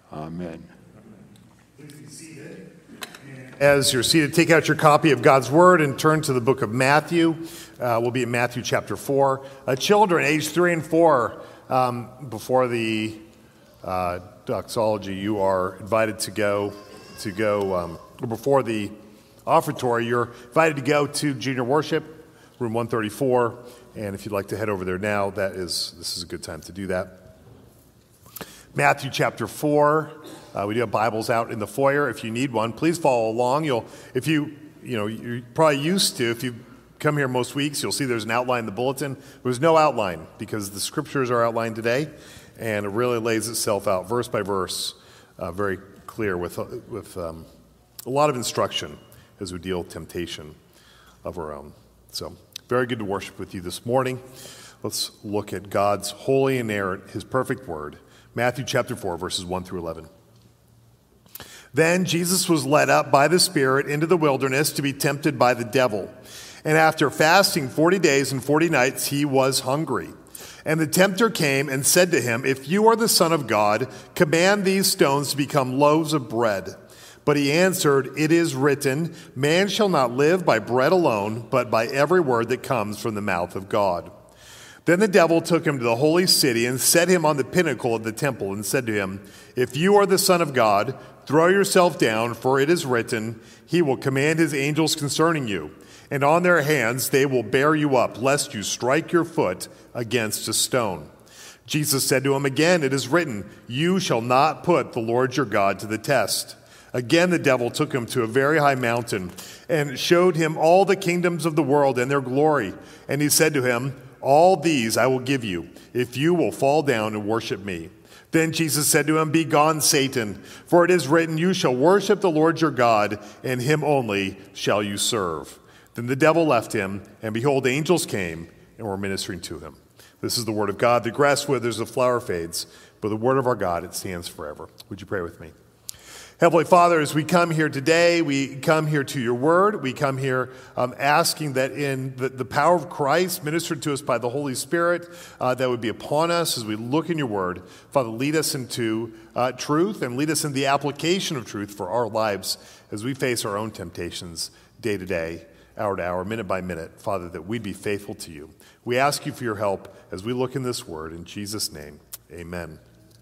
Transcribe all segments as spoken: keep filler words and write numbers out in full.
Amen. Please be seated. As you're seated, take out your copy of God's Word and turn to the book of Matthew. Uh, we'll be in Matthew chapter four. Uh, children, age three and four, um, before the uh, doxology, you are invited to go, to go um, before the offertory, you're invited to go to junior worship, room one thirty-four. And if you'd like to head over there now, that is this is a good time to do that. Matthew chapter four. Uh, we do have Bibles out in the foyer. If you need one, please follow along. You'll, if you, you know, you're probably used to, if you come here most weeks, you'll see there's an outline in the bulletin. There's no outline because the scriptures are outlined today, and it really lays itself out verse by verse, uh, very clear with, with um, a lot of instruction as we deal with temptation of our own. So, very good to worship with you this morning. Let's look at God's holy, inerrant, His perfect word. Matthew chapter four, verses one through eleven. Then Jesus was led up by the Spirit into the wilderness to be tempted by the devil. And after fasting forty days and forty nights, he was hungry. And the tempter came and said to him, "If you are the Son of God, command these stones to become loaves of bread." But he answered, "It is written, man shall not live by bread alone, but by every word that comes from the mouth of God." Then the devil took him to the holy city and set him on the pinnacle of the temple and said to him, "If you are the Son of God, throw yourself down, for it is written, he will command his angels concerning you, and on their hands they will bear you up, lest you strike your foot against a stone." Jesus said to him again, "It is written, you shall not put the Lord your God to the test." Again the devil took him to a very high mountain and showed him all the kingdoms of the world and their glory. And he said to him, "All these I will give you, if you will fall down and worship me." Then Jesus said to him, "Begone, Satan, for it is written, you shall worship the Lord your God, and him only shall you serve." Then the devil left him, and behold, angels came and were ministering to him. This is the word of God. The grass withers, the flower fades, but the word of our God, it stands forever. Would you pray with me? Heavenly Father, as we come here today, we come here to your word. We come here um, asking that in the, the power of Christ, ministered to us by the Holy Spirit, uh, that would be upon us as we look in your word. Father, lead us into uh, truth and lead us in the application of truth for our lives as we face our own temptations day to day, hour to hour, minute by minute. Father, that we'd be faithful to you. We ask you for your help as we look in this word. In Jesus' name, amen.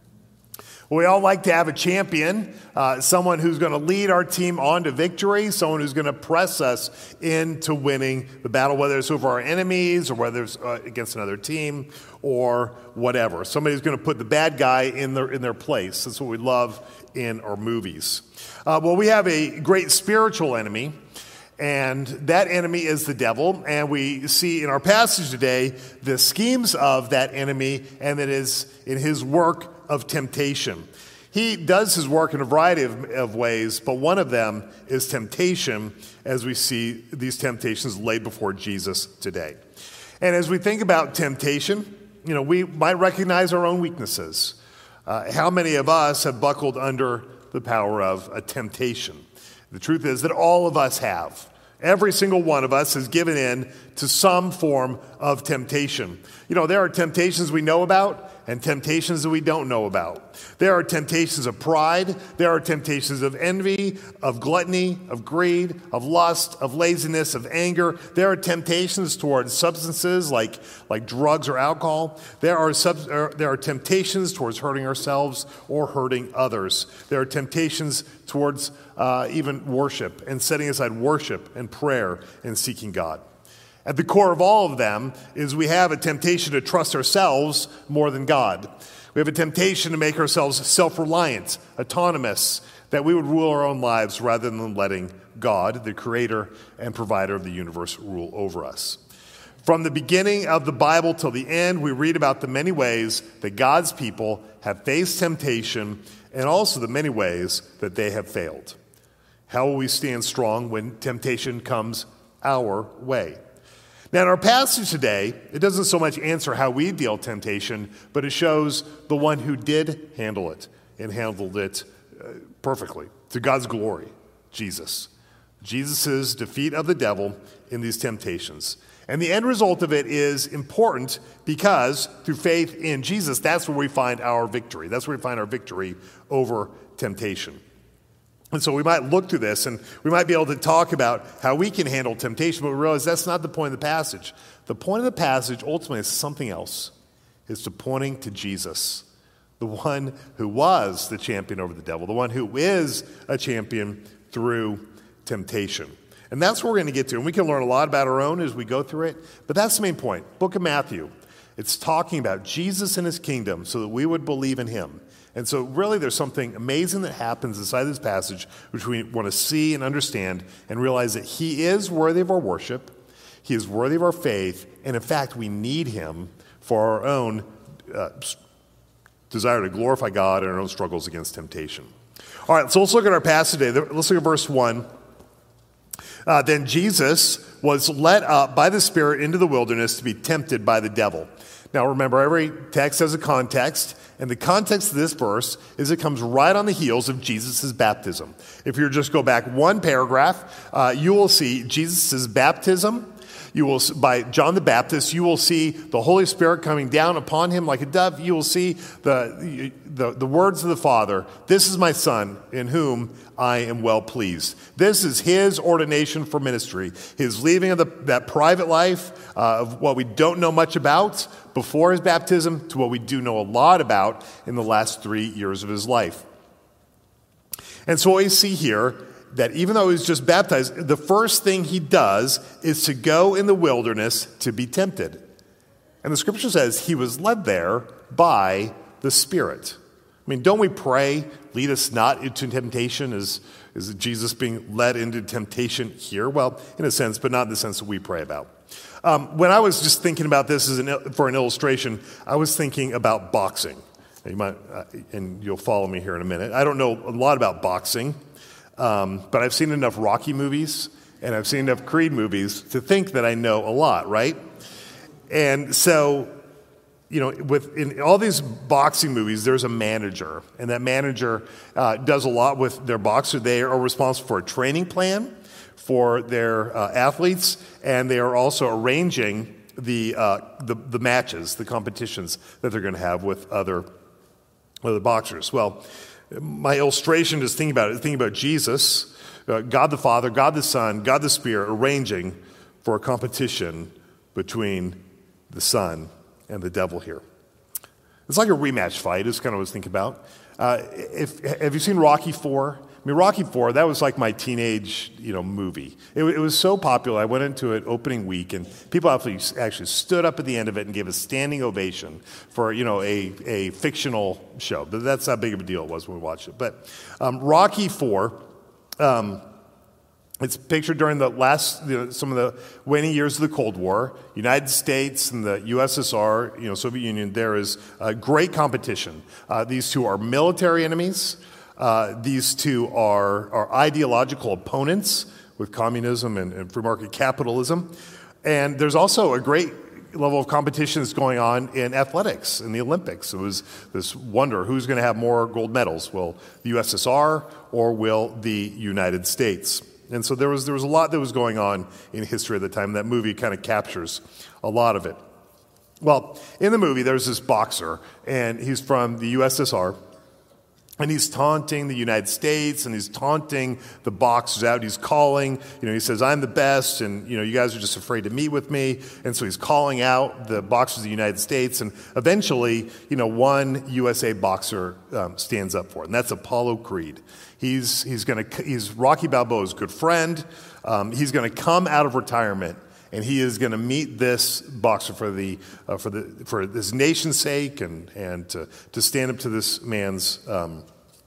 We all like to have a champion, uh, someone who's going to lead our team on to victory, someone who's going to press us into winning the battle, whether it's over our enemies or whether it's uh, against another team or whatever. Somebody who's going to put the bad guy in their, in their place. That's what we love in our movies. Uh, well, we have a great spiritual enemy, and that enemy is the devil. And we see in our passage today the schemes of that enemy, and that is in his work of temptation. He does his work in a variety of, of ways, but one of them is temptation, as we see these temptations laid before Jesus today. And as we think about temptation, you know, we might recognize our own weaknesses. Uh, how many of us have buckled under the power of a temptation? The truth is that all of us have. Every single one of us has given in to some form of temptation. You know, there are temptations we know about and temptations that we don't know about. There are temptations of pride. There are temptations of envy, of gluttony, of greed, of lust, of laziness, of anger. There are temptations towards substances like, like drugs or alcohol. There are, sub, er, there are temptations towards hurting ourselves or hurting others. There are temptations towards uh, even worship and setting aside worship and prayer and seeking God. At the core of all of them is we have a temptation to trust ourselves more than God. We have a temptation to make ourselves self-reliant, autonomous, that we would rule our own lives rather than letting God, the creator and provider of the universe, rule over us. From the beginning of the Bible till the end, we read about the many ways that God's people have faced temptation and also the many ways that they have failed. How will we stand strong when temptation comes our way? Now, in our passage today, it doesn't so much answer how we deal with temptation, but it shows the one who did handle it and handled it uh, perfectly to God's glory, Jesus. Jesus' defeat of the devil in these temptations. And the end result of it is important because through faith in Jesus, that's where we find our victory. That's where we find our victory over temptation. And so we might look through this and we might be able to talk about how we can handle temptation, but we realize that's not the point of the passage. The point of the passage ultimately is something else. It's to pointing to Jesus, the one who was the champion over the devil, the one who is a champion through temptation. And that's what we're going to get to. And we can learn a lot about our own as we go through it. But that's the main point. Book of Matthew. It's talking about Jesus and his kingdom so that we would believe in him. And so really there's something amazing that happens inside this passage which we want to see and understand and realize that he is worthy of our worship. He is worthy of our faith. And in fact, we need him for our own uh, desire to glorify God and our own struggles against temptation. All right, so let's look at our passage today. Let's look at verse one. Uh, then Jesus was led up by the Spirit into the wilderness to be tempted by the devil. Now remember, every text has a context, and the context of this verse is it comes right on the heels of Jesus' baptism. If you just go back one paragraph, uh, you will see Jesus' baptism. You will, by John the Baptist, you will see the Holy Spirit coming down upon him like a dove. You will see the, the, the words of the Father. This is my Son in whom I am well pleased. This is his ordination for ministry, his leaving of the, that private life uh, of what we don't know much about before his baptism to what we do know a lot about in the last three years of his life. And so what we see here, that even though he was just baptized, the first thing he does is to go in the wilderness to be tempted. And the scripture says he was led there by the Spirit. I mean, don't we pray, lead us not into temptation? Is, is Jesus being led into temptation here? Well, in a sense, but not in the sense that we pray about. Um, when I was just thinking about this as an, for an illustration, I was thinking about boxing. You might, uh, and you'll follow me here in a minute. I don't know a lot about boxing. Um, but I've seen enough Rocky movies and I've seen enough Creed movies to think that I know a lot, right? And so, you know, with in all these boxing movies, there's a manager, and that manager uh, does a lot with their boxer. They are responsible for a training plan for their uh, athletes, and they are also arranging the, uh, the the matches, the competitions that they're going to have with other other boxers. Well, my illustration is thinking about it, thinking about Jesus, uh, God the Father, God the Son, God the Spirit, arranging for a competition between the Son and the devil here. It's like a rematch fight, is kind of what I was thinking about. Uh, if, have you seen Rocky four? I mean, Rocky four, that was like my teenage, you know, movie. It, it was so popular. I went into it opening week, and people actually, actually stood up at the end of it and gave a standing ovation for, you know, a, a fictional show. But that's how big of a deal it was when we watched it. But um, Rocky four, um, it's pictured during the last, you know, some of the waning years of the Cold War. United States and the U S S R, you know, Soviet Union, there is a great competition. Uh, these two are military enemies. Uh, these two are, are ideological opponents with communism and, and free market capitalism. And there's also a great level of competition that's going on in athletics, in the Olympics. It was this wonder, who's going to have more gold medals? Will the U S S R or will the United States? And so there was there was a lot that was going on in history at the time. That movie kind of captures a lot of it. Well, in the movie, there's this boxer, and he's from the U S S R. And he's taunting the United States, and he's taunting the boxers out. He's calling, you know, he says, I'm the best, and, you know, you guys are just afraid to meet with me. And so he's calling out the boxers of the United States. And eventually, you know, one U S A boxer um, stands up for it, and that's Apollo Creed. He's, he's going to, he's Rocky Balboa's good friend. Um, he's going to come out of retirement, and he is going to meet this boxer for the uh, for the for his nation's sake, and and to, to stand up to this man's um,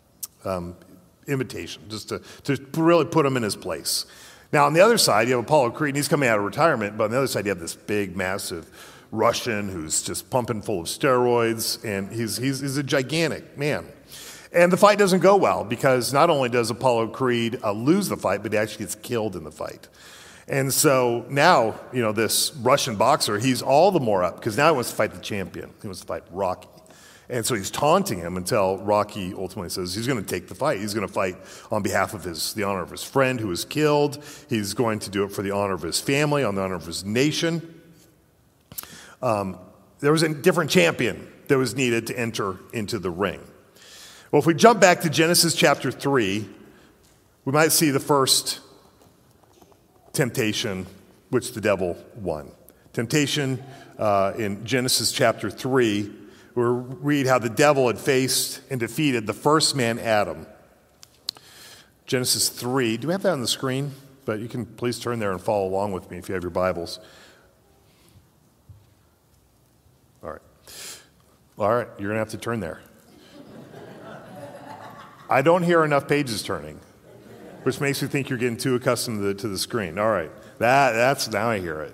um, invitation, just to to really put him in his place. Now, on the other side, you have Apollo Creed, and he's coming out of retirement. But on the other side, you have this big, massive Russian who's just pumping full of steroids, and he's he's, he's a gigantic man. And the fight doesn't go well because not only does Apollo Creed uh, lose the fight, but he actually gets killed in the fight. And so now, you know, this Russian boxer, he's all the more up because now he wants to fight the champion. He wants to fight Rocky. And so he's taunting him until Rocky ultimately says he's going to take the fight. He's going to fight on behalf of his the honor of his friend who was killed. He's going to do it for the honor of his family, on the honor of his nation. Um, there was a different champion that was needed to enter into the ring. Well, if we jump back to Genesis chapter three, we might see the first temptation which the devil won. Temptation uh, in Genesis chapter three, we read how the devil had faced and defeated the first man, Adam. Genesis three, do we have that on the screen? But you can please turn there and follow along with me if you have your Bibles. All right. All right, you're going to have to turn there. I don't hear enough pages turning, which makes me think you're getting too accustomed to the, to the screen. All right, that, that's now I hear it.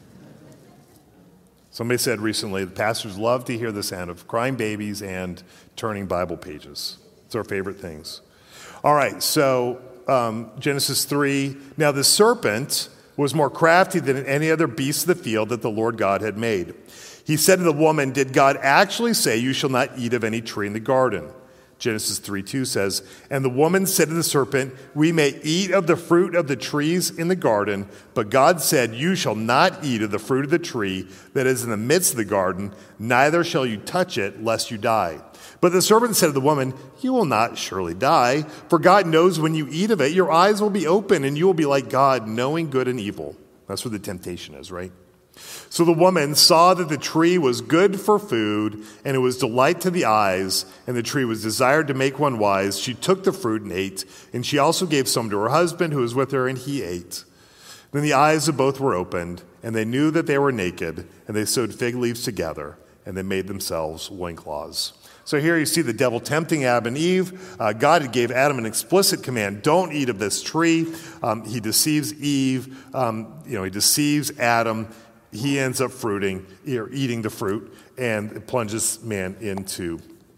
Somebody said recently, the pastors love to hear the sound of crying babies and turning Bible pages. It's our favorite things. All right, so um, Genesis three. Now the serpent was more crafty than any other beast of the field that the Lord God had made. He said to the woman, did God actually say, you shall not eat of any tree in the garden? Genesis three two says, and the woman said to the serpent, we may eat of the fruit of the trees in the garden, but God said, you shall not eat of the fruit of the tree that is in the midst of the garden, neither shall you touch it, lest you die. But the serpent said to the woman, you will not surely die, for God knows when you eat of it, your eyes will be open, and you will be like God, knowing good and evil. That's where the temptation is, right? So the woman saw that the tree was good for food, and it was delight to the eyes, and the tree was desired to make one wise. She took the fruit and ate, and she also gave some to her husband who was with her, and he ate. Then the eyes of both were opened, and they knew that they were naked, and they sewed fig leaves together, and they made themselves loincloths. So here you see the devil tempting Adam and Eve. Uh, God gave Adam an explicit command, don't eat of this tree. Um, he deceives Eve, um, you know, he deceives Adam. He ends up fruiting, or eating the fruit, and it plunges man into,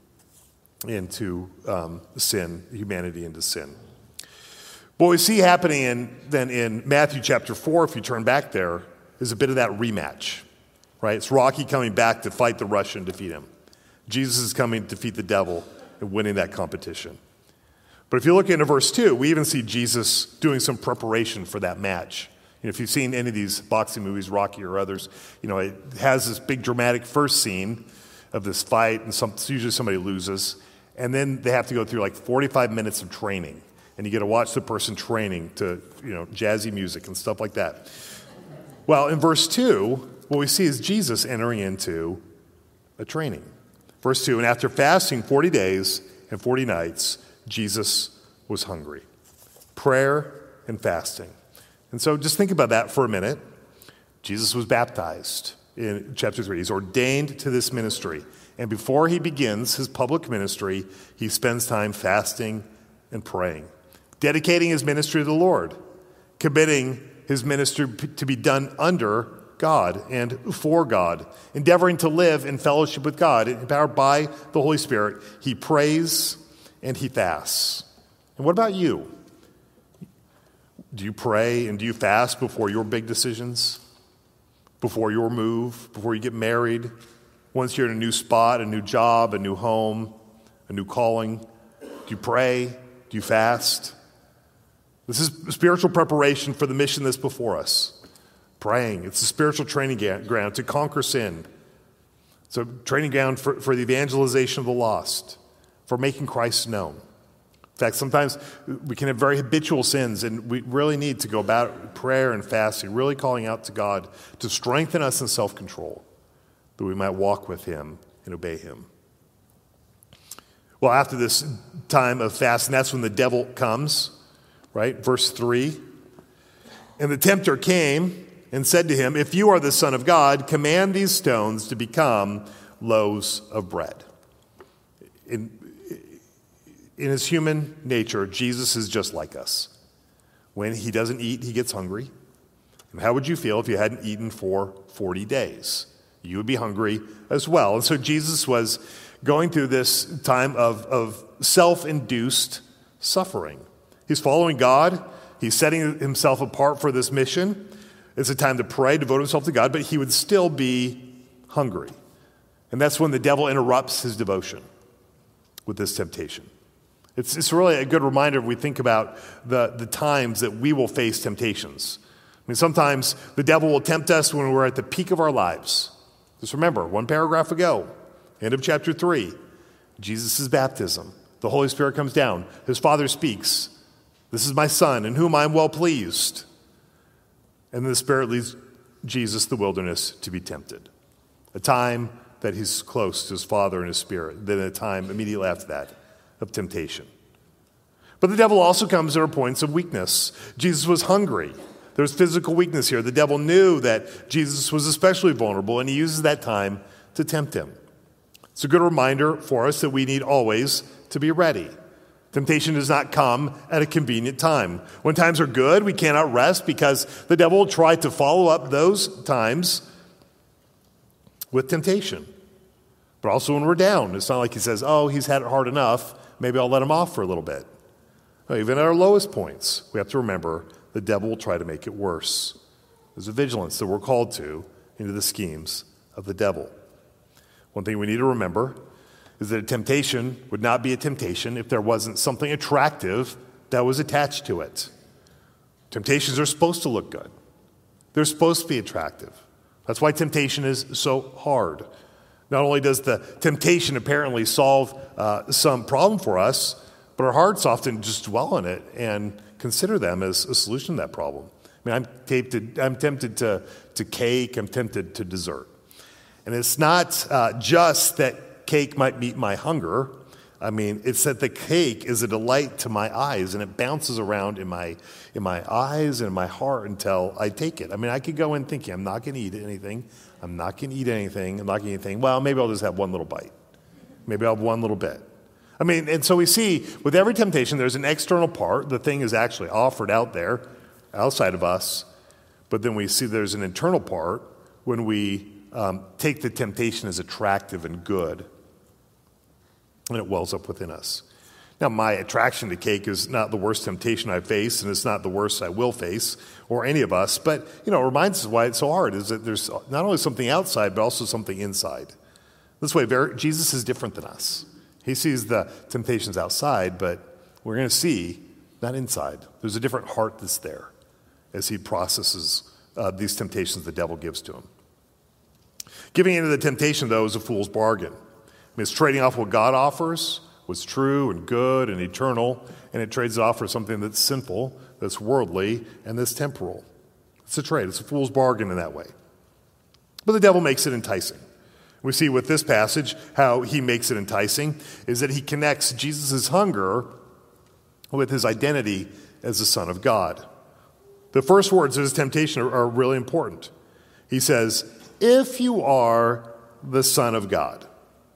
into um, sin, humanity into sin. What we see happening in, then in Matthew chapter four, if you turn back there, is a bit of that rematch, right? It's Rocky coming back to fight the Russian and defeat him. Jesus is coming to defeat the devil and winning that competition. But if you look into verse two, we even see Jesus doing some preparation for that match. You know, if you've seen any of these boxing movies, Rocky or others, you know, it has this big dramatic first scene of this fight, and some, usually somebody loses, and then they have to go through like forty-five minutes of training, and you get to watch the person training to, you know, jazzy music and stuff like that. Well, in verse two, what we see is Jesus entering into a training. Verse two, and after fasting forty days and forty nights, Jesus was hungry. Prayer and fasting. And so just think about that for a minute. Jesus was baptized in chapter three. He's ordained to this ministry. And before he begins his public ministry, he spends time fasting and praying, dedicating his ministry to the Lord, committing his ministry to be done under God and for God, endeavoring to live in fellowship with God, empowered by the Holy Spirit. He prays and he fasts. And what about you? Do you pray and do you fast before your big decisions? Before your move? Before you get married? Once you're in a new spot, a new job, a new home, a new calling? Do you pray? Do you fast? This is spiritual preparation for the mission that's before us. Praying. It's a spiritual training ground to conquer sin. It's a training ground for, for the evangelization of the lost, for making Christ known. In fact, sometimes we can have very habitual sins, and we really need to go about prayer and fasting, really calling out to God to strengthen us in self-control, that we might walk with him and obey him. Well, after this time of fasting, that's when the devil comes, right? Verse three. And the tempter came and said to him, if you are the Son of God, command these stones to become loaves of bread. In, in his human nature, Jesus is just like us. When he doesn't eat, he gets hungry. And how would you feel if you hadn't eaten for forty days? You would be hungry as well. And so Jesus was going through this time of, of self-induced suffering. He's following God. He's setting himself apart for this mission. It's a time to pray, devote himself to God, but he would still be hungry. And that's when the devil interrupts his devotion with this temptation. It's, it's really a good reminder if we think about the, the times that we will face temptations. I mean, sometimes the devil will tempt us when we're at the peak of our lives. Just remember, one paragraph ago, end of chapter three, Jesus' baptism. The Holy Spirit comes down. His Father speaks. This is my Son, in whom I am well pleased. And then the Spirit leads Jesus to the wilderness to be tempted. A time that he's close to his Father and his Spirit. Then a time immediately after that of temptation. But the devil also comes at our points of weakness. Jesus was hungry. There's physical weakness here. The devil knew that Jesus was especially vulnerable, and he uses that time to tempt him. It's a good reminder for us that we need always to be ready. Temptation does not come at a convenient time. When times are good, we cannot rest because the devil will try to follow up those times with temptation. But also when we're down, it's not like he says, oh, he's had it hard enough, maybe I'll let him off for a little bit. No, even at our lowest points, we have to remember the devil will try to make it worse. There's a vigilance that we're called to into the schemes of the devil. One thing we need to remember is that a temptation would not be a temptation if there wasn't something attractive that was attached to it. Temptations are supposed to look good. They're supposed to be attractive. That's why temptation is so hard. Not only does the temptation apparently solve uh, some problem for us, but our hearts often just dwell on it and consider them as a solution to that problem. I mean, I'm tempted, I'm tempted to, to cake, I'm tempted to dessert. And it's not uh, just that cake might meet my hunger. I mean, it's that the cake is a delight to my eyes, and it bounces around in my in my eyes and in my heart until I take it. I mean, I could go in thinking, I'm not going to eat anything. I'm not going to eat anything. I'm not going to eat anything. Well, maybe I'll just have one little bite. Maybe I'll have one little bit. I mean, and so we see with every temptation, there's an external part. The thing is actually offered out there, outside of us. But then we see there's an internal part when we um, take the temptation as attractive and good, and it wells up within us. Now, my attraction to cake is not the worst temptation I face, and it's not the worst I will face, or any of us. But, you know, it reminds us why it's so hard, is that there's not only something outside, but also something inside. This way, Jesus is different than us. He sees the temptations outside, but we're going to see not inside. There's a different heart that's there as he processes uh, these temptations the devil gives to him. Giving into the temptation, though, is a fool's bargain. I mean, it's trading off what God offers, what's true and good and eternal, and it trades it off for something that's sinful, that's worldly, and that's temporal. It's a trade. It's a fool's bargain in that way. But the devil makes it enticing. We see with this passage how he makes it enticing is that he connects Jesus' hunger with his identity as the Son of God. The first words of his temptation are, are really important. He says, if you are the Son of God.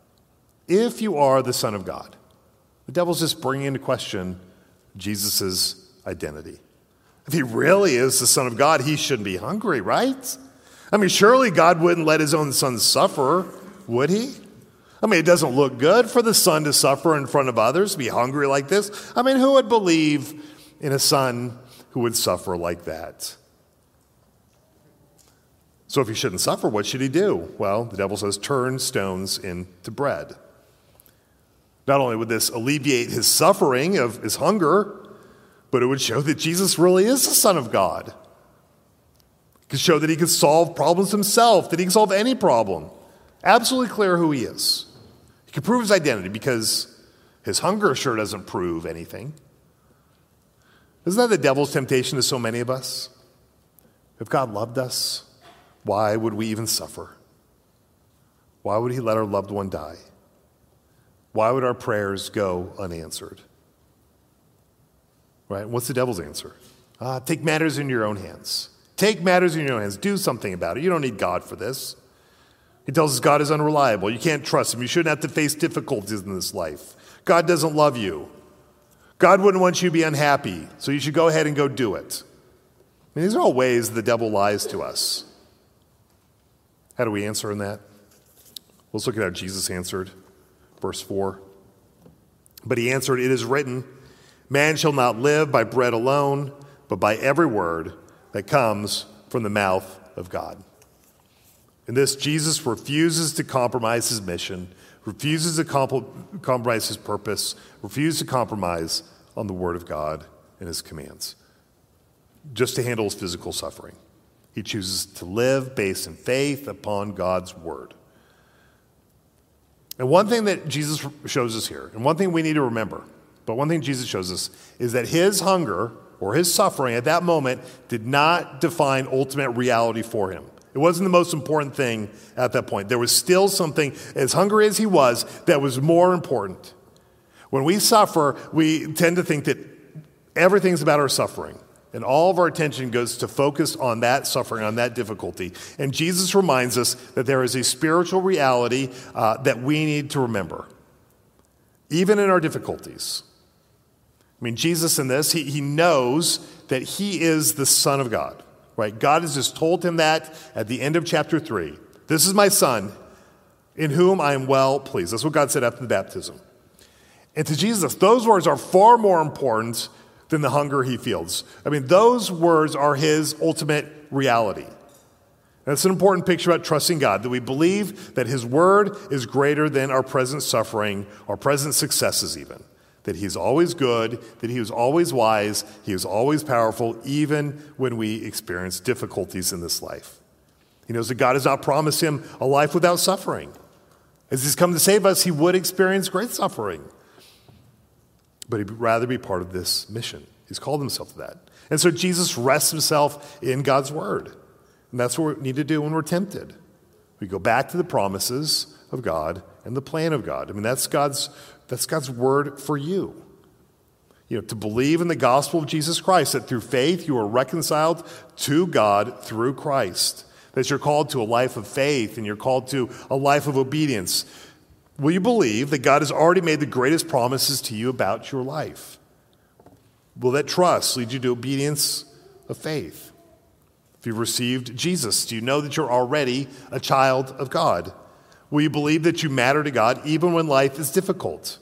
If you are the Son of God. The devil's just bringing into question Jesus' identity. If he really is the Son of God, he shouldn't be hungry, right? I mean, surely God wouldn't let his own son suffer, would he? I mean, it doesn't look good for the son to suffer in front of others, be hungry like this. I mean, who would believe in a son who would suffer like that? So if he shouldn't suffer, what should he do? Well, the devil says, turn stones into bread. Not only would this alleviate his suffering of his hunger, but it would show that Jesus really is the Son of God. It could show that he could solve problems himself, that he can solve any problem. Absolutely clear who he is. He could prove his identity because his hunger sure doesn't prove anything. Isn't that the devil's temptation to so many of us? If God loved us, why would we even suffer? Why would he let our loved one die? Why would our prayers go unanswered? Right? What's the devil's answer? Uh, take matters in your own hands. Take matters in your own hands. Do something about it. You don't need God for this. He tells us God is unreliable. You can't trust him. You shouldn't have to face difficulties in this life. God doesn't love you. God wouldn't want you to be unhappy, so you should go ahead and go do it. I mean, these are all ways the devil lies to us. How do we answer in that? Let's look at how Jesus answered. Verse four. But he answered, it is written, man shall not live by bread alone, but by every word that comes from the mouth of God. In this, Jesus refuses to compromise his mission, refuses to comp- compromise his purpose, refuses to compromise on the word of God and his commands, just to handle his physical suffering. He chooses to live based in faith upon God's word. And one thing that Jesus shows us here, and one thing we need to remember, but one thing Jesus shows us is that his hunger or his suffering at that moment did not define ultimate reality for him. It wasn't the most important thing at that point. There was still something, as hungry as he was, that was more important. When we suffer, we tend to think that everything's about our suffering. And all of our attention goes to focus on that suffering, on that difficulty. And Jesus reminds us that there is a spiritual reality uh, that we need to remember, even in our difficulties. I mean, Jesus in this, he, he knows that he is the Son of God, right? God has just told him that at the end of chapter three. This is my Son, in whom I am well pleased. That's what God said after the baptism. And to Jesus, those words are far more important than the hunger he feels. I mean, those words are his ultimate reality. That's an important picture about trusting God, that we believe that his word is greater than our present suffering, our present successes even. That he's always good, that he is always wise, he is always powerful, even when we experience difficulties in this life. He knows that God has not promised him a life without suffering. As he's come to save us, he would experience great suffering. But he'd rather be part of this mission. He's called himself to that. And so Jesus rests himself in God's word. And that's what we need to do when we're tempted. We go back to the promises of God and the plan of God. I mean, that's God's, that's God's word for you. You know, to believe in the gospel of Jesus Christ, that through faith you are reconciled to God through Christ. That you're called to a life of faith and you're called to a life of obedience. Will you believe that God has already made the greatest promises to you about your life? Will that trust lead you to obedience of faith? If you've received Jesus, do you know that you're already a child of God? Will you believe that you matter to God even when life is difficult?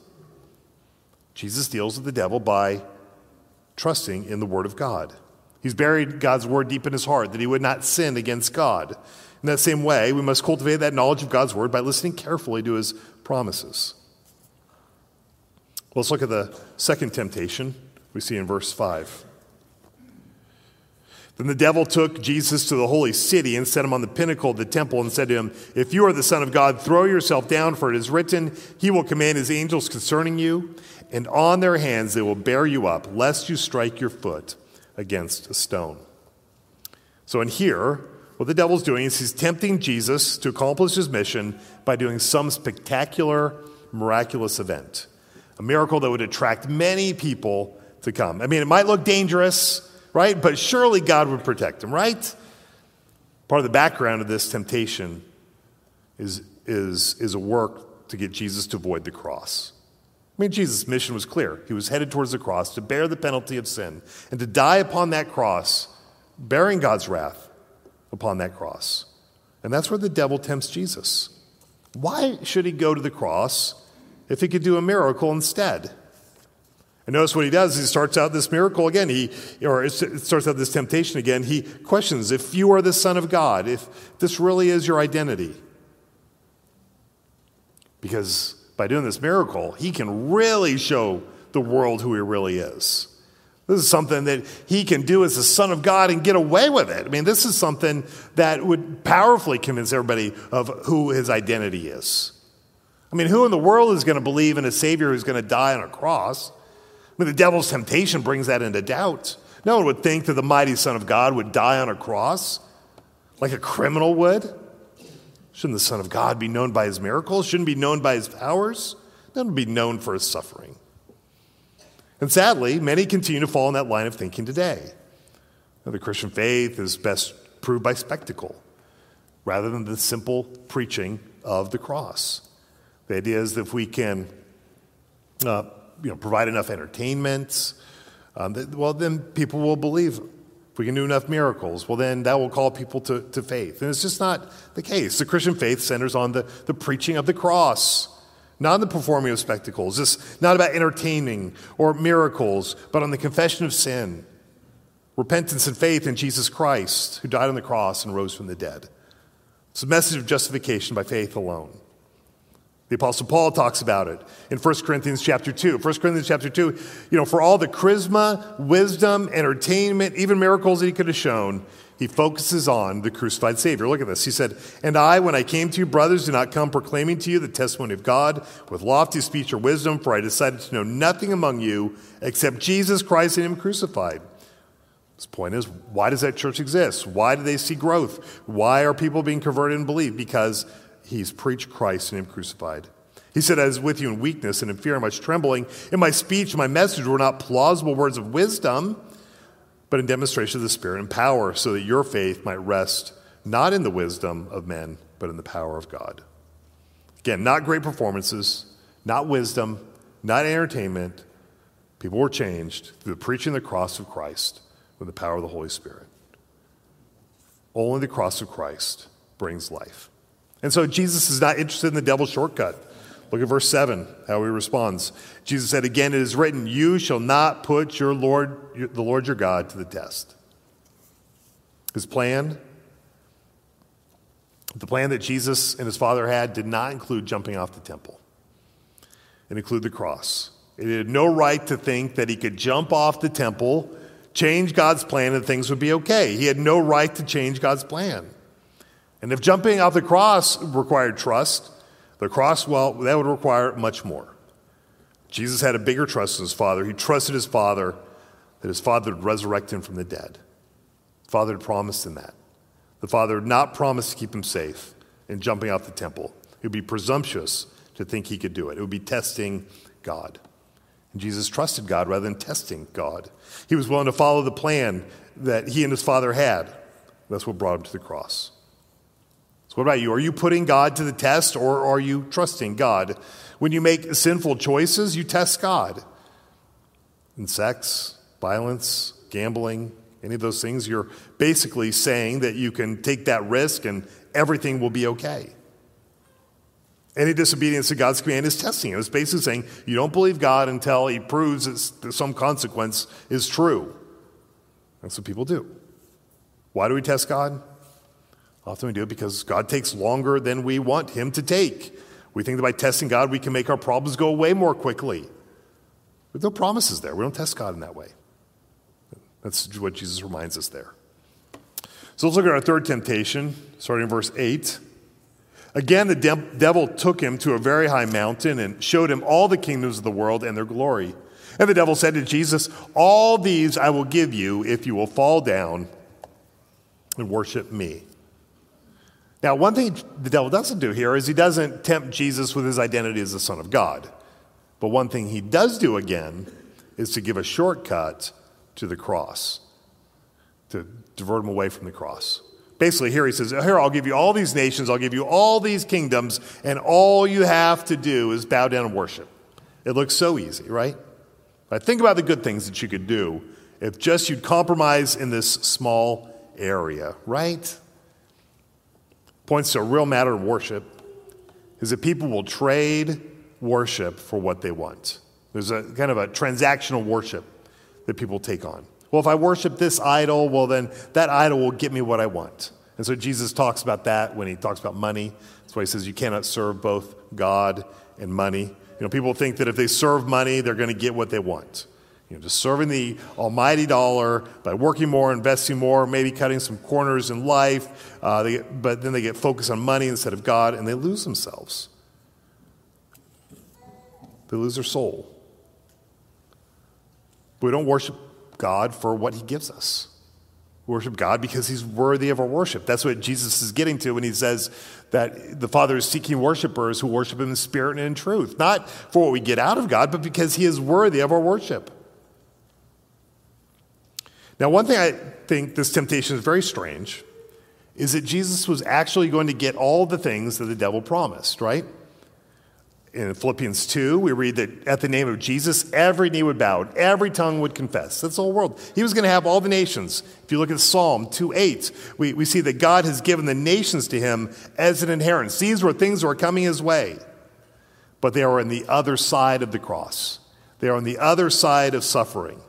Jesus deals with the devil by trusting in the word of God. He's buried God's word deep in his heart that he would not sin against God. In that same way, we must cultivate that knowledge of God's word by listening carefully to his promises. Let's look at the second temptation we see in verse five. Then the devil took Jesus to the holy city and set him on the pinnacle of the temple and said to him, "If you are the Son of God, throw yourself down, for it is written, he will command his angels concerning you, and on their hands they will bear you up, lest you strike your foot against a stone." So in here, what the devil's doing is he's tempting Jesus to accomplish his mission by doing some spectacular, miraculous event. A miracle that would attract many people to come. I mean, it might look dangerous, right? But surely God would protect him, right? Part of the background of this temptation is, is, is a work to get Jesus to avoid the cross. I mean, Jesus' mission was clear. He was headed towards the cross to bear the penalty of sin and to die upon that cross, bearing God's wrath upon that cross. And that's where the devil tempts Jesus. Why should he go to the cross if he could do a miracle instead? And notice what he does. He starts out this miracle again. He, or it starts out this temptation again. He questions, if you are the Son of God, if this really is your identity. Because by doing this miracle, he can really show the world who he really is. This is something that he can do as the Son of God and get away with it. I mean, this is something that would powerfully convince everybody of who his identity is. I mean, who in the world is going to believe in a Savior who's going to die on a cross? I mean, the devil's temptation brings that into doubt. No one would think that the mighty Son of God would die on a cross like a criminal would. Shouldn't the Son of God be known by his miracles? Shouldn't be known by his powers? Then be known for his suffering. And sadly, many continue to fall in that line of thinking today. Now, the Christian faith is best proved by spectacle rather than the simple preaching of the cross. The idea is that if we can uh, you know, provide enough entertainment, um, that, well, then people will believe. If we can do enough miracles, well, then that will call people to, to faith. And it's just not the case. The Christian faith centers on the, the preaching of the cross, not on the performing of spectacles. It's not about entertaining or miracles, but on the confession of sin, repentance and faith in Jesus Christ, who died on the cross and rose from the dead. It's a message of justification by faith alone. The Apostle Paul talks about it in First Corinthians chapter two. First Corinthians chapter two, you know, for all the charisma, wisdom, entertainment, even miracles that he could have shown, he focuses on the crucified Savior. Look at this. He said, "And I, when I came to you, brothers, did not come proclaiming to you the testimony of God with lofty speech or wisdom, for I decided to know nothing among you except Jesus Christ and him crucified." His point is, why does that church exist? Why do they see growth? Why are people being converted and believed? Because he's preached Christ and him crucified. He said, "I was with you in weakness and in fear and much trembling. In my speech, my message were not plausible words of wisdom, but in demonstration of the Spirit and power, so that your faith might rest not in the wisdom of men, but in the power of God." Again, not great performances, not wisdom, not entertainment. People were changed through the preaching of the cross of Christ with the power of the Holy Spirit. Only the cross of Christ brings life. And so Jesus is not interested in the devil's shortcut. Look at verse seven, how he responds. Jesus said, "Again, it is written, you shall not put your Lord, the Lord your God to the test." His plan, the plan that Jesus and his Father had, did not include jumping off the temple. It included the cross. It had no right to think that he could jump off the temple, change God's plan, and things would be okay. He had no right to change God's plan. And if jumping off the cross required trust, the cross, well, that would require much more. Jesus had a bigger trust in his Father. He trusted his Father that his Father would resurrect him from the dead. The Father had promised him that. The Father had not promised to keep him safe in jumping off the temple. It would be presumptuous to think he could do it. It would be testing God. And Jesus trusted God rather than testing God. He was willing to follow the plan that he and his Father had. That's what brought him to the cross. So what about you? Are you putting God to the test, or are you trusting God? When you make sinful choices, you test God. In sex, violence, gambling, any of those things, you're basically saying that you can take that risk and everything will be okay. Any disobedience to God's command is testing him. It's basically saying you don't believe God until he proves that some consequence is true. That's what people do. Why do we test God? Often we do it because God takes longer than we want him to take. We think that by testing God, we can make our problems go away more quickly. But no promises there. We don't test God in that way. That's what Jesus reminds us there. So let's look at our third temptation, starting in verse eight. Again, the de- devil took him to a very high mountain and showed him all the kingdoms of the world and their glory. And the devil said to Jesus, "All these I will give you if you will fall down and worship me." Now, one thing the devil doesn't do here is he doesn't tempt Jesus with his identity as the Son of God. But one thing he does do again is to give a shortcut to the cross, to divert him away from the cross. Basically, here he says, here, I'll give you all these nations, I'll give you all these kingdoms, and all you have to do is bow down and worship. It looks so easy, right? But think about the good things that you could do if just you'd compromise in this small area, right? Points to a real matter of worship is that people will trade worship for what they want. There's a kind of a transactional worship that people take on. Well, if I worship this idol, well, then that idol will get me what I want. And so Jesus talks about that when he talks about money. That's why he says you cannot serve both God and money. You know, people think that if they serve money, they're going to get what they want. You know, just serving the almighty dollar by working more, investing more, maybe cutting some corners in life, uh, they get, but then they get focused on money instead of God, and they lose themselves. They lose their soul. We don't worship God for what he gives us. We worship God because he's worthy of our worship. That's what Jesus is getting to when he says that the Father is seeking worshipers who worship him in spirit and in truth. Not for what we get out of God, but because he is worthy of our worship. Now, one thing I think this temptation is very strange is that Jesus was actually going to get all the things that the devil promised, right? In Philippians two, we read that at the name of Jesus, every knee would bow, and every tongue would confess. That's the whole world. He was going to have all the nations. If you look at Psalm two eight, we, we see that God has given the nations to him as an inheritance. These were things that were coming his way, but they are on the other side of the cross. They are on the other side of suffering.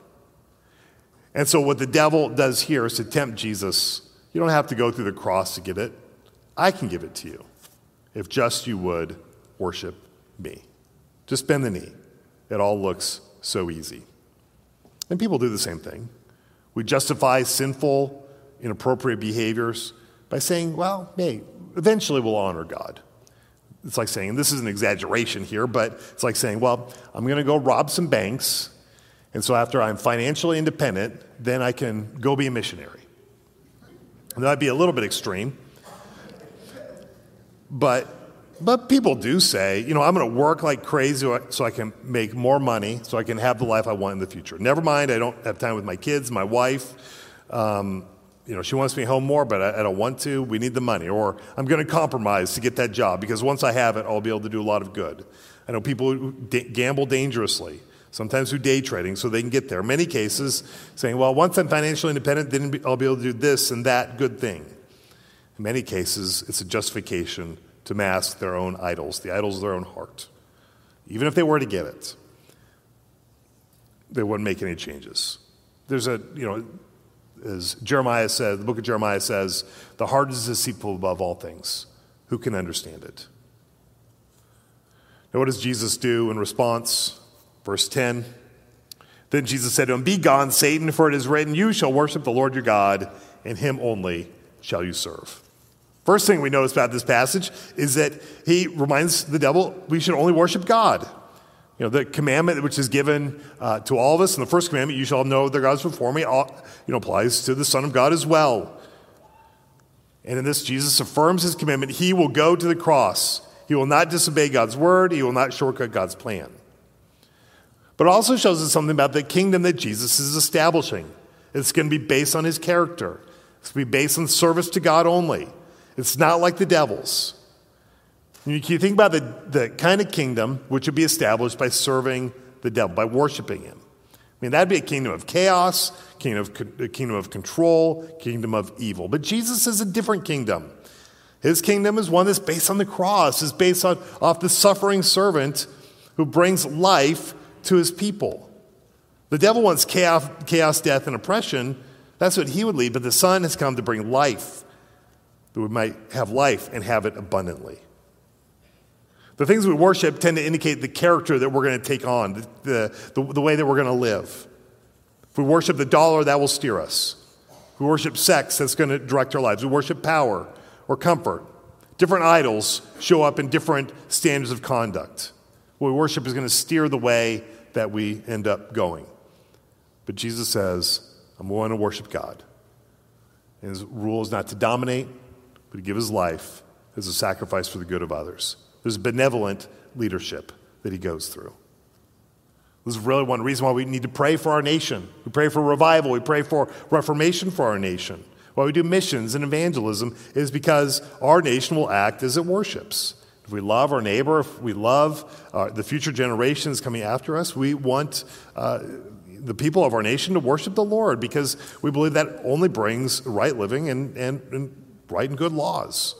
And so what the devil does here is to tempt Jesus. You don't have to go through the cross to get it. I can give it to you if just you would worship me. Just bend the knee. It all looks so easy. And people do the same thing. We justify sinful, inappropriate behaviors by saying, well, hey, eventually we'll honor God. It's like saying, and this is an exaggeration here, but it's like saying, well, I'm going to go rob some banks, and so after I'm financially independent, then I can go be a missionary. And that'd be a little bit extreme. But but people do say, you know, I'm going to work like crazy so I can make more money, so I can have the life I want in the future. Never mind, I don't have time with my kids, my wife. Um, you know, she wants me home more, but I, I don't want to. We need the money. Or I'm going to compromise to get that job because once I have it, I'll be able to do a lot of good. I know people who d- gamble dangerously, sometimes through day trading, so they can get there. In many cases, saying, well, once I'm financially independent, then I'll be able to do this and that good thing. In many cases, it's a justification to mask their own idols, the idols of their own heart. Even if they were to get it, they wouldn't make any changes. There's a, you know, as Jeremiah said, the book of Jeremiah says, the heart is deceitful above all things. Who can understand it? Now, what does Jesus do in response? Verse ten. Then Jesus said to him, "Be gone, Satan, for it is written, you shall worship the Lord your God, and him only shall you serve." First thing we notice about this passage is that he reminds the devil we should only worship God. You know, the commandment which is given uh, to all of us in the first commandment, you shall know their gods before me, all, you know, applies to the Son of God as well. And in this, Jesus affirms his commitment. He will go to the cross. He will not disobey God's word. He will not shortcut God's plan. But it also shows us something about the kingdom that Jesus is establishing. It's going to be based on his character. It's going to be based on service to God only. It's not like the devil's. You can think about the, the kind of kingdom which would be established by serving the devil, by worshiping him. I mean, that'd be a kingdom of chaos, kingdom of, a kingdom of control, kingdom of evil. But Jesus is a different kingdom. His kingdom is one that's based on the cross, is based on off the suffering servant who brings life to his people. The devil wants chaos, chaos, death, and oppression. That's what he would lead. But the Son has come to bring life, that we might have life and have it abundantly. The things we worship tend to indicate the character that we're going to take on, the, the, the way that we're going to live. If we worship the dollar, that will steer us. If we worship sex, that's going to direct our lives. We worship power or comfort. Different idols show up in different standards of conduct. What we worship is going to steer the way that we end up going. But Jesus says, I'm going to worship God. And his rule is not to dominate, but to give his life as a sacrifice for the good of others. There's benevolent leadership that he goes through. This is really one reason why we need to pray for our nation. We pray for revival. We pray for reformation for our nation. Why we do missions and evangelism is because our nation will act as it worships. If we love our neighbor, if we love uh, the future generations coming after us, we want uh, the people of our nation to worship the Lord because we believe that only brings right living and, and, and right and good laws.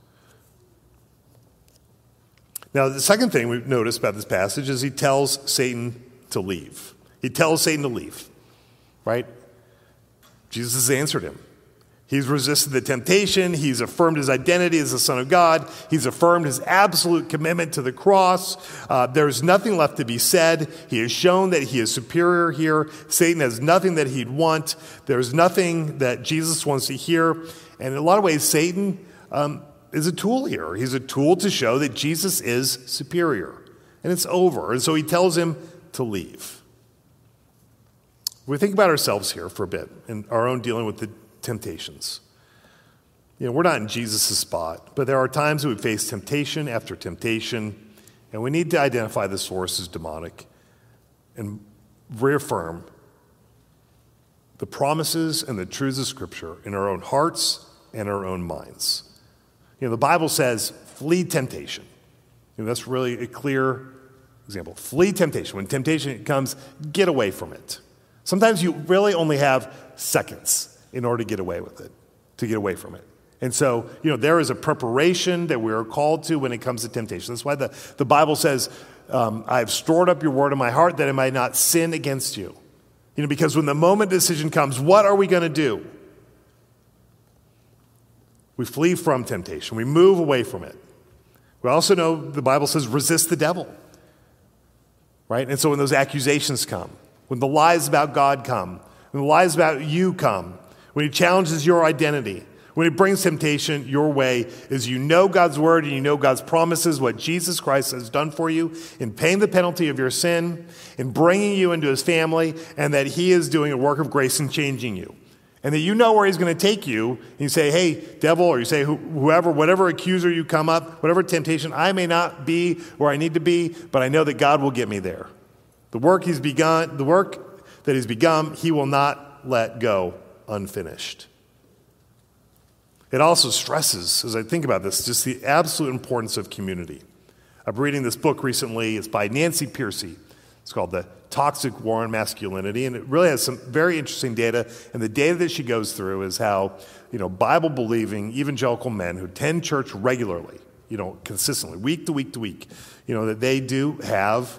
Now, the second thing we've noticed about this passage is he tells Satan to leave. He tells Satan to leave, right? Jesus has answered him. He's resisted the temptation. He's affirmed his identity as the Son of God. He's affirmed his absolute commitment to the cross. Uh, there's nothing left to be said. He has shown that he is superior here. Satan has nothing that he'd want. There's nothing that Jesus wants to hear. And in a lot of ways, Satan um, is a tool here. He's a tool to show that Jesus is superior. And it's over. And so he tells him to leave. We think about ourselves here for a bit and our own dealing with the temptations. You know, we're not in Jesus' spot, but there are times that we face temptation after temptation, and we need to identify the source as demonic and reaffirm the promises and the truths of Scripture in our own hearts and our own minds. You know, the Bible says, flee temptation. You know, that's really a clear example. Flee temptation. When temptation comes, get away from it. Sometimes you really only have seconds in order to get away with it, to get away from it. And so, you know, there is a preparation that we are called to when it comes to temptation. That's why the, the Bible says, um, I have stored up your word in my heart that I might not sin against you. You know, because when the moment decision comes, what are we going to do? We flee from temptation. We move away from it. We also know the Bible says resist the devil, right? And so when those accusations come, when the lies about God come, when the lies about you come, when he challenges your identity, when he brings temptation your way, is you know God's word and you know God's promises, what Jesus Christ has done for you in paying the penalty of your sin, in bringing you into his family, and that he is doing a work of grace in changing you. And that you know where he's going to take you. And you say, hey, devil, or you say, whoever, whatever accuser you come up, whatever temptation, I may not be where I need to be, but I know that God will get me there. The work he's begun, the work that he's begun, he will not let go unfinished. It also stresses, as I think about this, just the absolute importance of community. I'm reading this book recently. It's by Nancy Pearcey. It's called The Toxic War on Masculinity, and it really has some very interesting data. And the data that she goes through is how, you know, Bible-believing evangelical men who attend church regularly, you know, consistently, week to week to week, you know, that they do have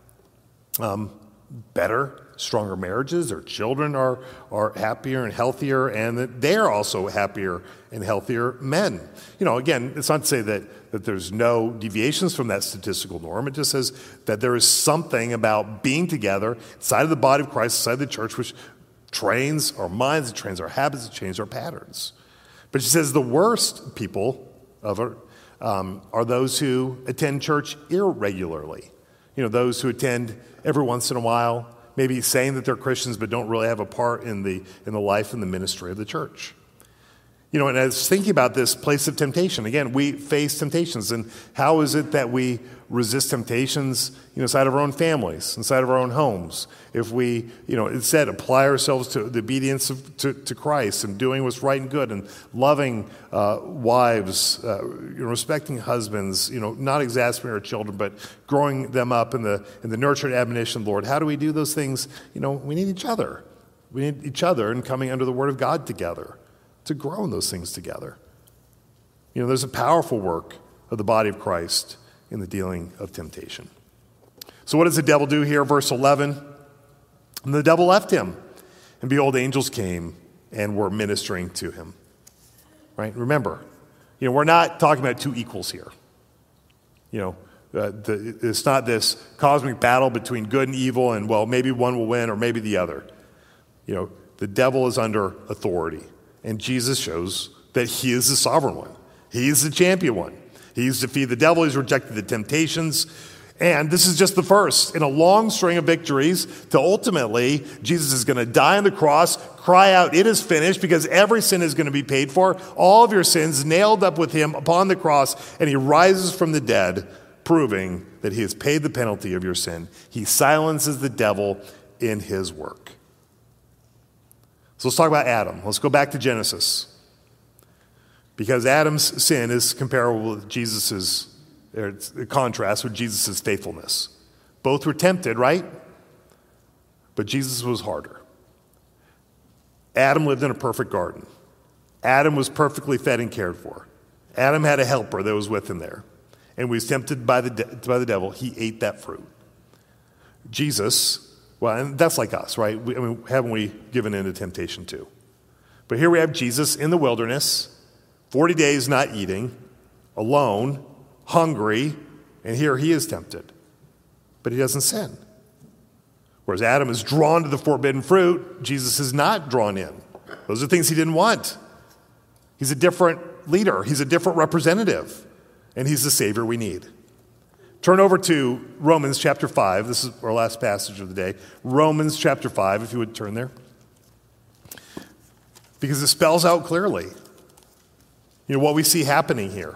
um, better, stronger marriages. Their children are, are happier and healthier, and that they're also happier and healthier men. You know, again, it's not to say that, that there's no deviations from that statistical norm. It just says that there is something about being together inside of the body of Christ, inside the church, which trains our minds, it trains our habits, it trains our patterns. But she says the worst people of it um, are those who attend church irregularly. You know, those who attend every once in a while, maybe saying that they're Christians but don't really have a part in the in the life and the ministry of the church. You know, and I was thinking about this place of temptation. Again, we face temptations, and how is it that we resist temptations, you know, inside of our own families, inside of our own homes? If we, you know, instead apply ourselves to the obedience of, to, to Christ and doing what's right and good and loving uh, wives, uh, you know, respecting husbands, you know, not exasperating our children, but growing them up in the in the nurture and admonition of the Lord. How do we do those things? You know, we need each other. We need each other and coming under the Word of God together to grow in those things together. You know, there's a powerful work of the body of Christ in the dealing of temptation. So what does the devil do here? Verse eleven, and the devil left him, and behold, angels came and were ministering to him. Right? Remember, you know, we're not talking about two equals here. You know, uh, the, it's not this cosmic battle between good and evil, and well, maybe one will win or maybe the other. You know, the devil is under authority. And Jesus shows that he is the sovereign one. He's the champion one. He's defeated the devil. He's rejected the temptations. And this is just the first in a long string of victories to ultimately Jesus is going to die on the cross, cry out, it is finished, because every sin is going to be paid for. All of your sins nailed up with him upon the cross, and he rises from the dead, proving that he has paid the penalty of your sin. He silences the devil in his work. So let's talk about Adam. Let's go back to Genesis. Because Adam's sin is comparable with Jesus's, or it's a contrast with Jesus' faithfulness. Both were tempted, right? But Jesus was harder. Adam lived in a perfect garden. Adam was perfectly fed and cared for. Adam had a helper that was with him there. And when he was tempted by the, de- by the devil, he ate that fruit. Jesus, well, and that's like us, right? We, I mean, haven't we given in to temptation too? But here we have Jesus in the wilderness, forty days not eating, alone, hungry, and here he is tempted. But he doesn't sin. Whereas Adam is drawn to the forbidden fruit, Jesus is not drawn in. Those are things he didn't want. He's a different leader. He's a different representative. And he's the Savior we need. Turn over to Romans chapter five. This is our last passage of the day. Romans chapter five, if you would turn there. Because it spells out clearly, you know, what we see happening here.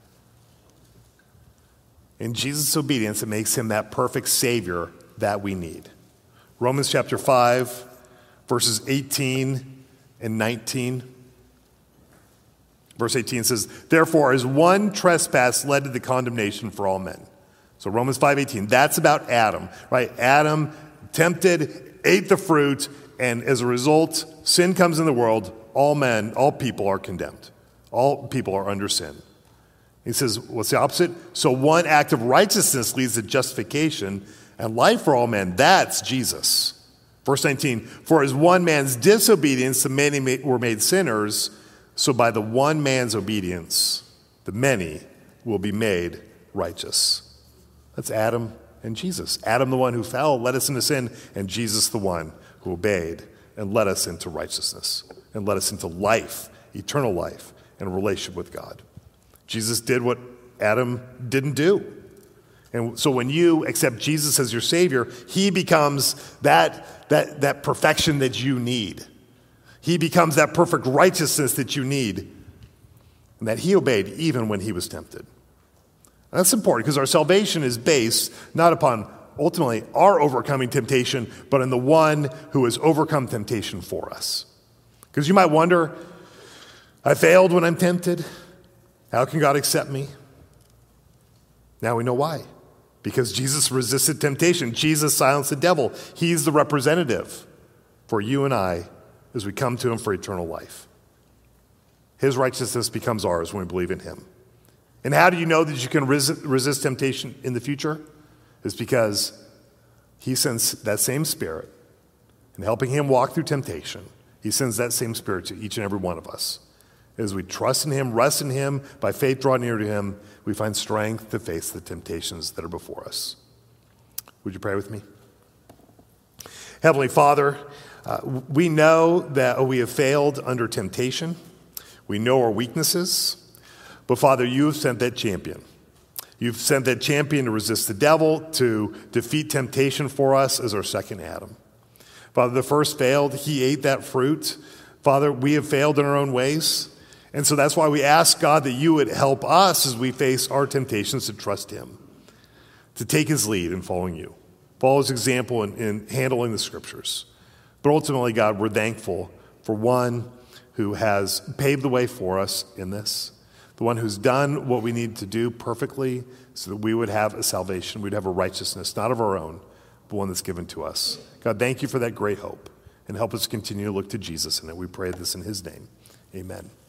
In Jesus' obedience, it makes him that perfect Savior that we need. Romans chapter five, verses eighteen and nineteen. Verse eighteen says, therefore, as one trespass led to the condemnation for all men. So Romans five eighteen, that's about Adam, right? Adam tempted, ate the fruit, and as a result, sin comes in the world. All men, all people are condemned. All people are under sin. He says, what's the opposite? So one act of righteousness leads to justification and life for all men. That's Jesus. Verse nineteen, for as one man's disobedience, the many were made sinners, So by the one man's obedience, the many will be made righteous. That's Adam and Jesus. Adam, the one who fell, led us into sin, and Jesus, the one who obeyed and led us into righteousness and led us into life, eternal life, and a relationship with God. Jesus did what Adam didn't do. And so when you accept Jesus as your Savior, he becomes that, that, that perfection that you need. He becomes that perfect righteousness that you need, and that he obeyed even when he was tempted. And that's important because our salvation is based not upon ultimately our overcoming temptation, but in the one who has overcome temptation for us. Because you might wonder, I failed when I'm tempted. How can God accept me? Now we know why. Because Jesus resisted temptation. Jesus silenced the devil. He's the representative for you and I as we come to him for eternal life. His righteousness becomes ours when we believe in him. And how do you know that you can resist, resist temptation in the future? It's because he sends that same Spirit, and helping him walk through temptation, he sends that same Spirit to each and every one of us. As we trust in him, rest in him, by faith draw near to him, we find strength to face the temptations that are before us. Would you pray with me? Heavenly Father, uh, we know that we have failed under temptation. We know our weaknesses. But Father, you have sent that champion. You've sent that champion to resist the devil, to defeat temptation for us as our second Adam. Father, the first failed. He ate that fruit. Father, we have failed in our own ways. And so that's why we ask, God, that you would help us as we face our temptations to trust him, to take his lead in following you, follow his example in, in handling the scriptures. But ultimately, God, we're thankful for one who has paved the way for us in this, the one who's done what we need to do perfectly so that we would have a salvation, we'd have a righteousness, not of our own, but one that's given to us. God, thank you for that great hope, and help us continue to look to Jesus in it. We pray this in his name. Amen.